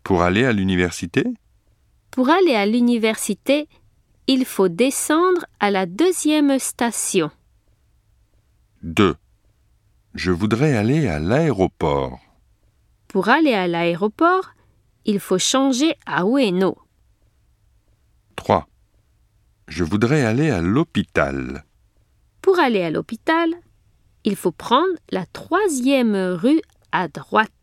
Pour aller à l'université? Pour aller à l'université, il faut descendre à la 2e station. 2. Je voudrais aller à l'aéroport. Pour aller à l'aéroport, il faut changer à Ueno. 3. Je voudrais aller à l'hôpital. Pour aller à l'hôpital, il faut prendre la 3e rue à droite.